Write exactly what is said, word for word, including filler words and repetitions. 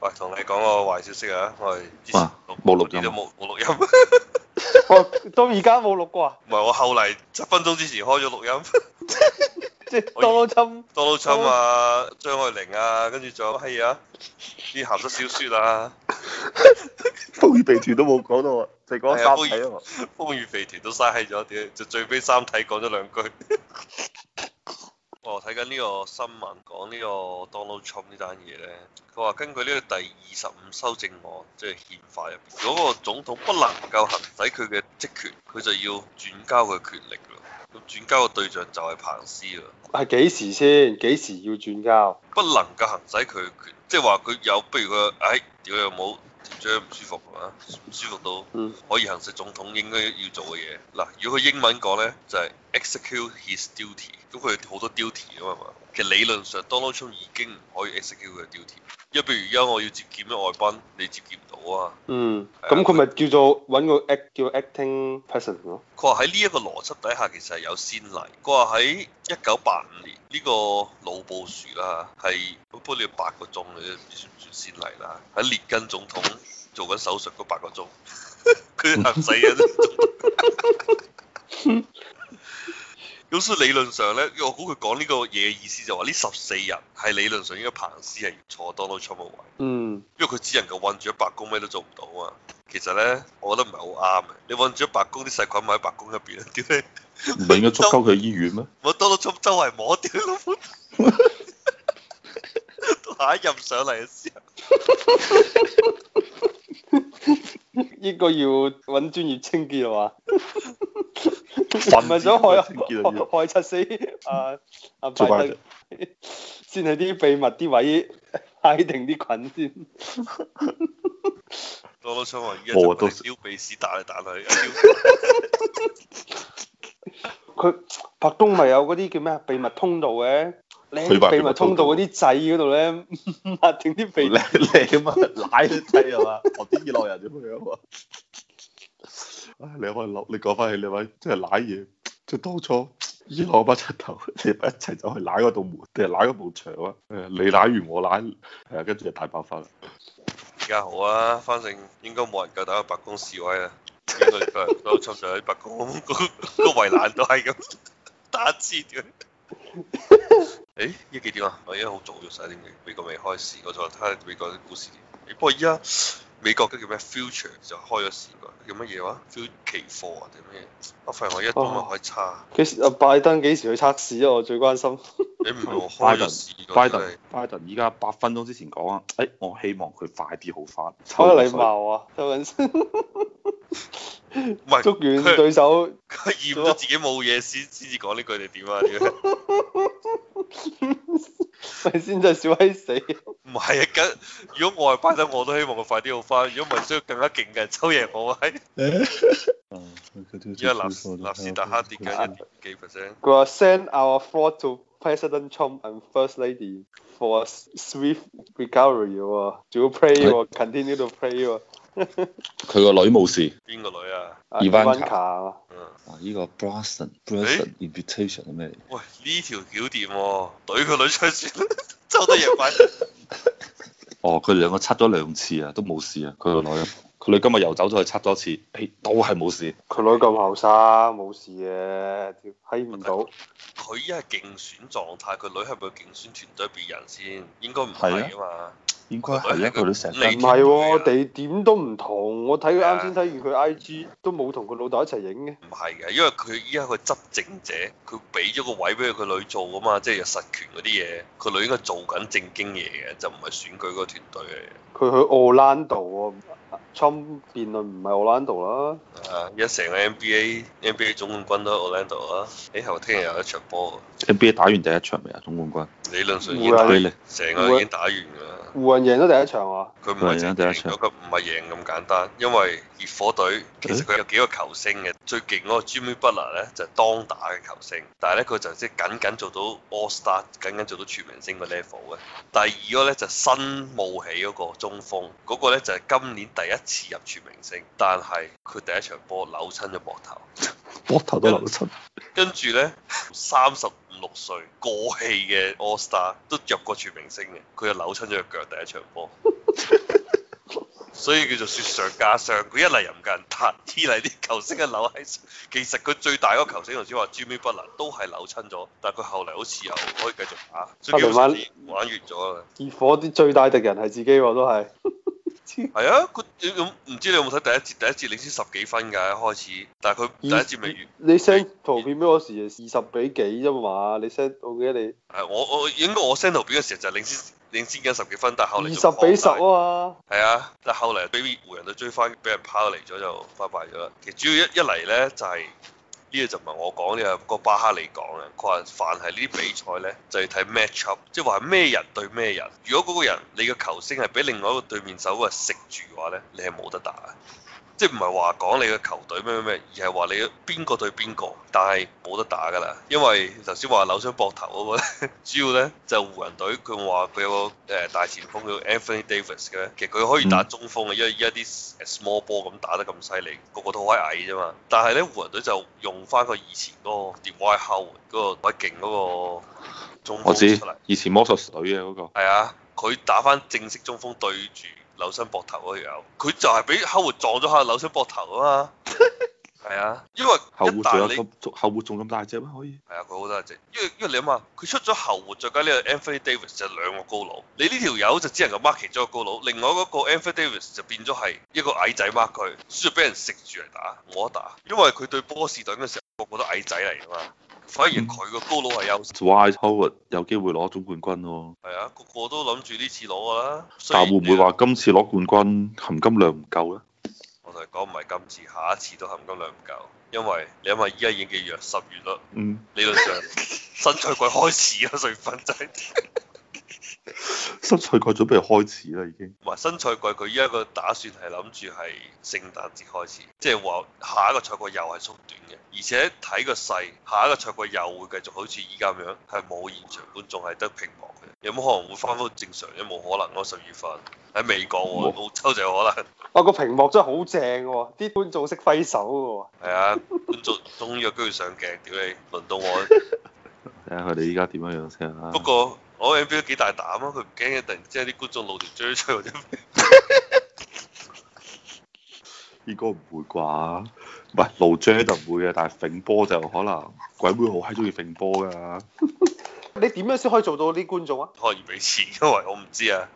喂，同你講個壞消息啊！我係之前哇冇錄音嗰啲都冇冇錄音， 我到而家冇錄過啊！ 唔係我後嚟七分鐘之前開咗錄音。 即係 Donald Trump Donald Trump 啊，張愛玲啊，跟住仲有乜閪啊？啲鹹濕小説啊， 風雨肥團都冇講到啊，就講三體啊嘛。 風雨肥團都嘥閪咗，屌就最尾三體講咗兩句。我睇緊呢個新聞講呢個 Donald Trump 呢單嘢咧，佢話根據呢個第二十五修正案，即係憲法入邊，如果個總統不能夠行使佢嘅職權，佢就要轉交佢權力咯。咁轉交嘅對象就係彭斯啦。 係幾時先？幾時要轉交？ 不能夠行使佢嘅權，即係話佢有，不如佢，哎，屌有冇條章唔舒服啊？唔舒服到可以行使總統應該要做嘅嘢。嗱，如果佢英文講咧，就係、是、execute his duty。咁佢好多 duty 啊嘛。其實理論上 Donald Trump 已經唔可以 execute 佢嘅 duty。因為譬如而家我要接見咩外賓，你接見唔到啊。 嗯。咁佢咪叫做揾個 act 叫 acting president 咯。 佢話喺呢一個邏輯底下，其實係有先例。佢話喺一九八五年呢、這個老布殊啦，係不過你要八個鐘，你都唔知算唔算先例啦。喺列根總統做緊手術嗰八個鐘，佢行使緊。咁所以理論上咧，我估佢講呢個嘢嘅意思就話呢十四日係理論上應該彭斯係坐 Donald Trump 嘅位。 嗯。 因為佢只能夠韞住喺白宮，咩都做唔到啊嘛。其實咧，我覺得唔係好啱嘅。你韞住喺白宮，啲細菌咪喺白宮入邊啊？屌你！ 唔係應該捉鳩佢醫院咩？ 我 Donald Trump 周圍摸屌老母，下一任上嚟嘅時候， 應該要揾專業清潔啊嘛。唔係想害害害柒死啊啊拜登，先係啲秘密啲位揩定啲菌先。 Donald Trump 話依家就係撩鼻屎彈嚟彈去。 佢白宮咪有嗰啲叫咩啊？秘密通道嘅，你喺秘密通道嗰啲掣嗰度咧，抹定啲鼻。 你你咁啊，奶都掣係嘛？學啲伊朗人咁樣啊！唉，你可以諗，你講翻起你位，即係舐嘢，即係當初伊朗班柒頭，你咪一齊走去舐嗰道門，定係舐嗰埲牆啊？誒，你舐完我舐，係啊，跟住就大爆發啦。 而家好啊，反正應該冇人夠膽去白宮示威啊！應該都出咗喺白宮，個個圍欄都係咁打字嘅。誒，依幾點啊？我而家好早咗，十一點幾，美國未開市，我再睇下美國啲股市點。不過依家美國嘅叫咩 future 就開咗市㗎，叫乜嘢話 future 期貨啊定咩？我發現我一都咪可以差。 幾時啊？拜登幾時去測試啊？我最關心。 你唔係我開咗市㗎。 拜登，拜登依家八分鐘之前講啊，誒，我希望佢快啲好翻。 好有禮貌啊，周文先。 唔係， 捉完對手， 佢驗咗自己冇嘢先先至講呢句定點啊？ 咪先真係笑閪死。 唔係啊，咁如果我係拜登，我都希望佢快啲好翻。如果唔係，需要更加勁嘅人抽贏我喺。而家納納斯達克跌緊一點幾 percent。 佢話 send our thought to President Trump and First Lady for a swift recovery 喎，仲要 pray 喎，continue to pray 喎。 佢個女冇事。 邊個女啊 ？Ivanka 啊。 嗯。 啊！依個 Brunson Brunson invitation 係咩嚟？ 喂，呢條橋掂喎，懟個女出去算啦，抽得贏快。 哦，佢哋兩個測咗兩次啊，都冇事啊。佢個女，佢女今日又走咗去測多次，誒，都係冇事。 佢女咁後生，冇事嘅，睇唔到。 佢依家係競選狀態，佢女係咪競選團隊別人先？應該唔係啊嘛。 應該係咧，佢都成日唔係喎，地點都唔同。我睇佢啱先睇完佢 I G 都冇同佢老豆一齊影嘅。 唔係嘅，因為佢依家佢執政者，佢俾咗個位俾佢女做啊嘛，即係有實權嗰啲嘢。佢女應該做緊正經嘢嘅，就唔係選舉嗰個團隊嘅。 佢去奧蘭度喎，Trump 辯論唔係奧蘭度啦。 啊！而家成個 N B A N B A 總冠軍都喺奧蘭度啊！誒，後聽日有一場波。 N B A 打完第一場未啊？總冠軍。 理論上已經打，成個已經打完㗎啦。 湖人贏咗第一場啊！ 佢唔係贏第一場，嗰個唔係贏咁簡單，因為熱火隊其實佢有幾個球星嘅，最勁嗰個 Jimmy Butler 咧就係當打嘅球星，但係咧佢就即係僅僅做到 All Star，僅僅做到全明星個 level 嘅。第二個咧就係新冒起嗰個中鋒，嗰個咧就係今年第一次入全明星，但係佢第一場波扭親咗膊頭， 膊頭都扭親。 跟住咧三十五六歲過氣嘅 All Star 都入過全明星嘅，佢又扭親咗隻腳第一場波。 所以叫做雪上加霜。佢一嚟又唔夠人彈，二嚟啲球星嘅扭喺，其實佢最大嗰個球星頭先話 Jimmy Butler 都係扭親咗，但係佢後嚟好似又可以繼續打，所以基本上玩完咗啦。 熱火啲最大敵人係自己喎，都係。 係啊，佢唔知你有冇睇第一節？第一節領先十幾分㗎，一開始，但係佢第一節未完。 你 send 圖片俾我時二十比幾啫嘛？你 send 我記得你。 係我我應該我 send 圖片嘅時候就係領先領先緊十幾分，但係後嚟二十比十啊嘛。 係啊，但係後嚟俾湖人隊追翻，俾人拋離咗就拜拜咗啦。其實主要一一嚟咧就係、是。呢個就唔係我講，呢個個巴哈利講嘅。佢話凡係呢啲比賽呢，就要睇 match up，即係話咩人對咩人。如果嗰個人你嘅球星係俾另外一個對面手個食住嘅話呢，你係冇得打。即係唔係話講你嘅球隊咩咩咩，而係話你邊個對邊個，但係冇得打㗎啦。因為頭先話扭傷膊頭嗰個咧，主要呢就湖人隊佢話佢有個誒大前鋒叫 Anthony Davis 嘅，其實佢可以打中鋒嘅，因為依家啲 small ball 咁打得咁犀利，個個都好矮啫嘛。但係呢，湖人隊就用翻佢以前嗰個 Dwight Howard 嗰個鬼勁嗰個中鋒出嚟。 以前魔術隊嘅嗰個。 係啊，佢打翻正式中鋒對住扭傷膊頭嗰條友，佢就係俾後活撞咗下扭傷膊頭啊嘛。係啊，因為後活仲有咁後活仲咁大隻咩？可以。 係啊，佢好大隻，因為因為你諗下，佢出咗後活，再加呢個 Anthony Davis 就兩個高佬，你呢條友就只能夠 mark 其中一個高佬，另外嗰個 Anthony Davis 就變咗係一個矮仔 mark 佢，需要俾人食住嚟打，冇得打，因為佢對波士頓嘅時候個個都矮仔嚟㗎嘛。反而佢個高佬係優勢。 Dwight Howard 有機會攞總冠軍喎。 係啊，個個都諗住呢次攞㗎啦。 但會唔會話今次攞冠軍含金量唔夠咧？ 我同你講唔係今次，下一次都含金量唔夠，因為你諗下依家已經幾月？十月啦。嗯。理論上新賽季開始啦，水分仔。 新賽季準備開始啦，已經。 唔係新賽季，佢依家個打算係諗住係聖誕節開始，即係話下一個賽季又係縮短嘅，而且睇個勢，下一個賽季又會繼續好似依家咁樣，係冇現場觀眾，係得屏幕嘅。有冇可能會翻返正常？有冇可能咯？十月份喺美國喎，澳洲就有可能。 哇！個屏幕真係好正喎，啲觀眾識揮手嘅喎。 係啊，觀眾終於有機會上鏡，屌你，輪到我。 睇下佢哋依家點樣樣先啊！ 不過我 N B A 都幾大膽啊，佢唔驚突然之間啲觀眾露條追出或者咩？ 應該唔會啩？唔係露追就唔會嘅，但係揈波就可能鬼妹好閪中意揈波㗎。 你點樣先可以做到啲觀眾啊？ 可以俾錢，因為我唔知啊。